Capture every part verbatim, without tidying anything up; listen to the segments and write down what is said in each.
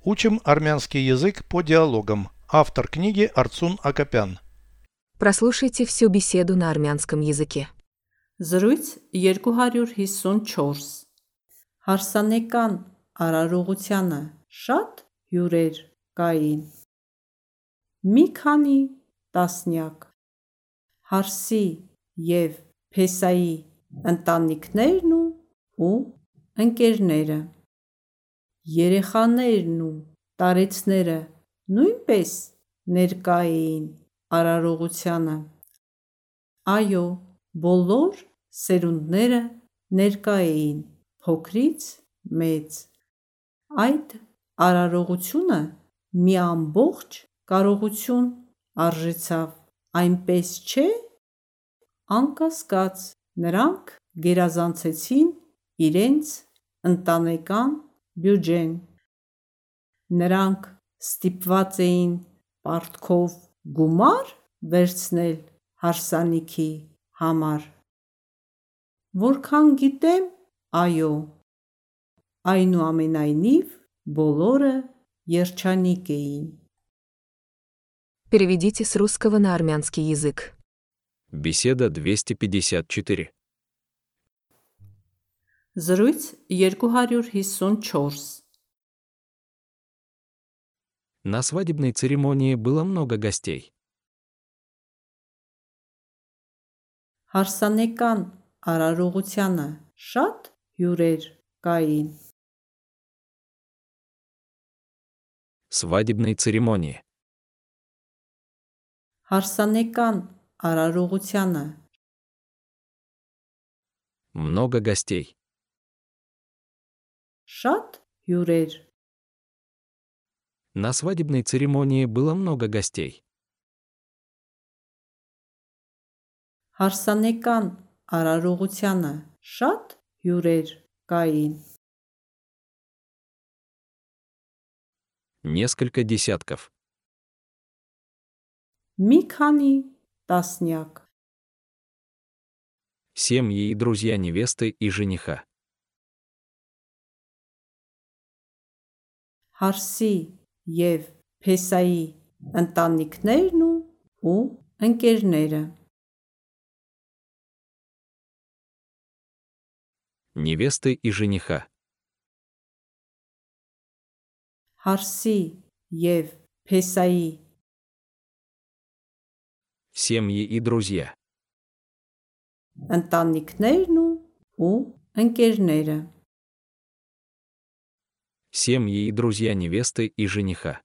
Учим армянский язык по диалогам. Автор книги Арцун Акопян. Прослушайте всю беседу на армянском языке. Զրույց երկու հարյուր հիսունչորս Հարսանեկան արարողությանը շատ հյուրեր կային։ Մի քանի տասնյակ Հարսի և Փեսայի ընտանիքներն ու, ու ընկերները։ Երեխաներն ու տարեցները նույնպես ներկա էին արարողությանը։ Այո, բոլոր սերունդները ներկա էին, փոքրից մեծ։ Այդ արարողությունը մի ամբողջ կարողություն արժեցավ, այնպես չէ՞։ Անկասկած, նրանք գերազանցեցին իրենց ընտանեկան բյուջեն։ Նրանք ստիպված էին պարտքով գումա՞ր վերցնել հարսանիքի համար։ Որքան գիտեմ, այո։ Այնուամենայնիվ, բոլորը երջանիկ էին։ Переведите с русского на армянский язык. Беседа двести пятьдесят четыре. Զրույց երկու հարյուր հիսունչորս На свадебной церемонии было много гостей. Հարսանեկան արարողությանը շատ հյուրեր կային։ Свадебной церемонии. Հարսանեկան արարողությանը Много гостей. շատ հյուրեր На свадебной церемонии было много гостей. Հարսանեկան արարողությանը շատ հյուրեր կային։ Несколько десятков. Մի քանի տասնյակ Семьи и друзья невесты и жениха. Հարսի և Փեսայի ընտանիքներն ու, ու ընկերները։ Невесты и жениха. Հարսի և Փեսայի Семьи и друзья. ընտանիքներն ու, ու ընկերները։ Семьи и друзья невесты и жениха.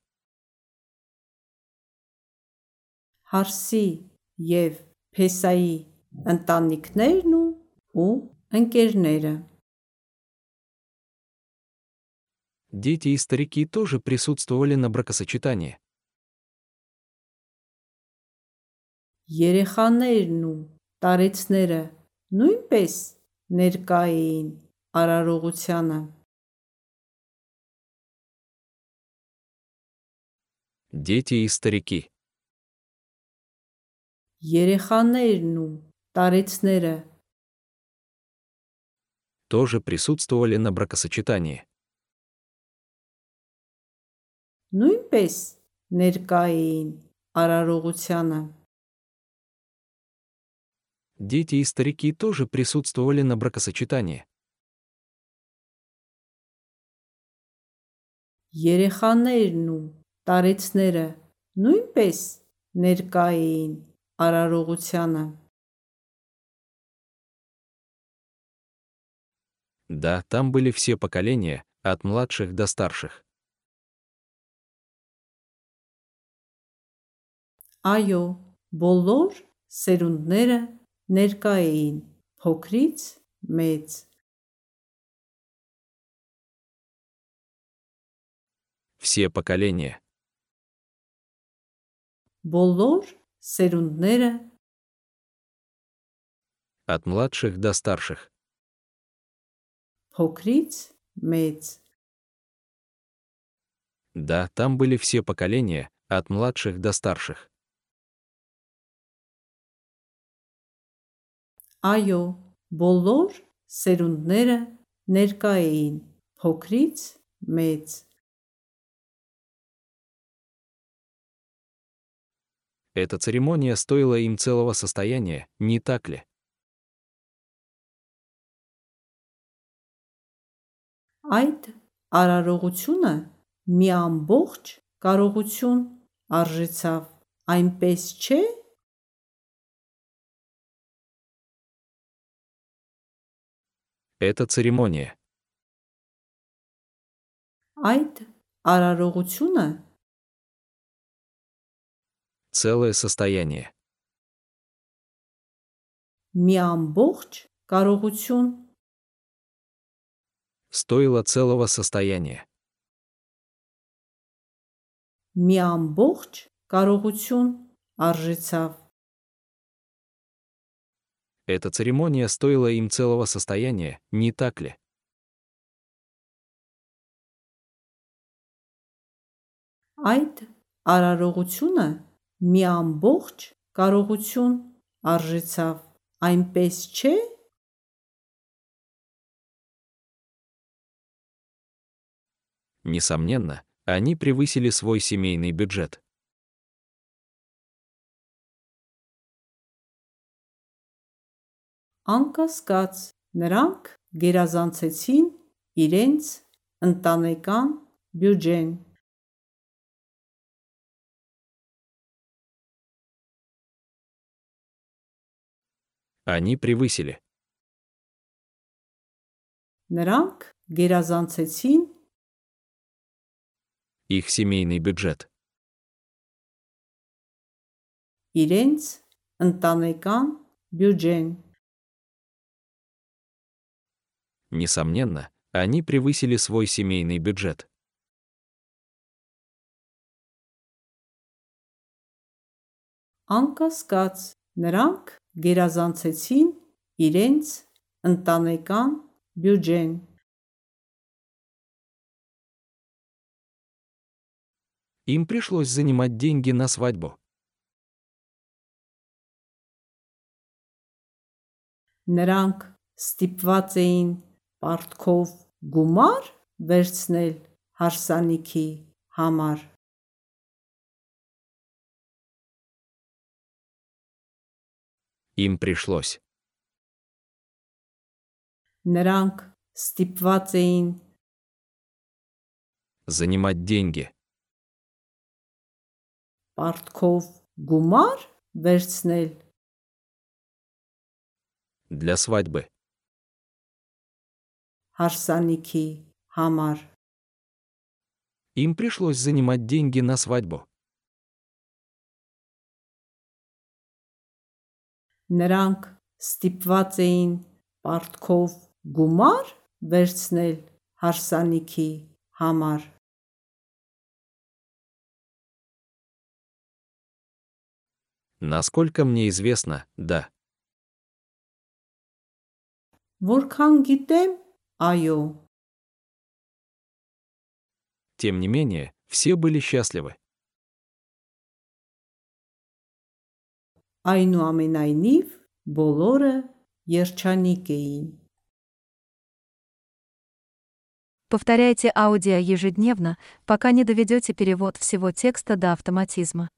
Հարսի և Փեսայի ընտանիքներն ու, ու ընկերները։ Дети и старики тоже присутствовали на бракосочетании. Երեխաներն ու տարեցները նույնպես ներկա էին արարողությանը։ Дети и старики Երեխաներն ու տարեցները тоже присутствовали на бракосочетании. նույնպես ներկա էին արարողությանը։ Дети и старики тоже присутствовали на бракосочетании. Երեխաներն ու տարեցները նույնպես ներկա էին արարողությանը։ Да, там были все поколения, от младших до старших. Այո, բոլոր սերունդները ներկա էին, փոքրից մեծ։ Все поколения. Բոլոր սերունդները От младших до старших. փոքրից մեծ։ Да, там были все поколения, от младших до старших. Այո, բոլոր սերունդները ներկա էին, փոքրից մեծ։ Эта церемония стоила им целого состояния, не так ли? Այդ արարողությունը մի ամբողջ կարողություն արժեցավ, այնպես չէ՞։ Эта церемония. Այդ արարողությունը Целое состояние. մի ամբողջ կարողություն Стоило целого состояния. մի ամբողջ կարողություն արժեցավ, Эта церемония стоила им целого состояния, не так ли? այդ արարողությունը մի ամբողջ կարողություն արժեցավ, այնպես չէ՞։ Несомненно, они превысили свой семейный бюджет. Անկասկած, նրանք գերազանցեցին իրենց ընտանեկան բյուջեն։ Они превысили. Նրանք գերազանցեցին Их семейный бюджет. իրենց ընտանեկան բյուջեն։ Несомненно, они превысили свой семейный бюджет. Անկասկած, նրանք գերազանցեցին իրենց ընտանեկան բյուջեն։ Им пришлось занимать деньги на свадьбу. Նրանք ստիպված էին պարտքով գումար վերցնել հարսանիքի համար։ Им пришлось. Նրանք ստիպված էին Занимать деньги. պարտքով գումար վերցնել Для свадьбы. հարսանիքի համար։ Им пришлось занимать деньги на свадьбу. Նրանք ստիպված էին պարտքով գումար վերցնել հարսանիքի համար։ Насколько мне известно, да. Որքան գիտեմ, այո։ Тем не менее, все были счастливы. Այնուամենայնիվ, բոլորը երջանիկ էին։ Повторяйте аудио ежедневно, пока не доведете перевод всего текста до автоматизма.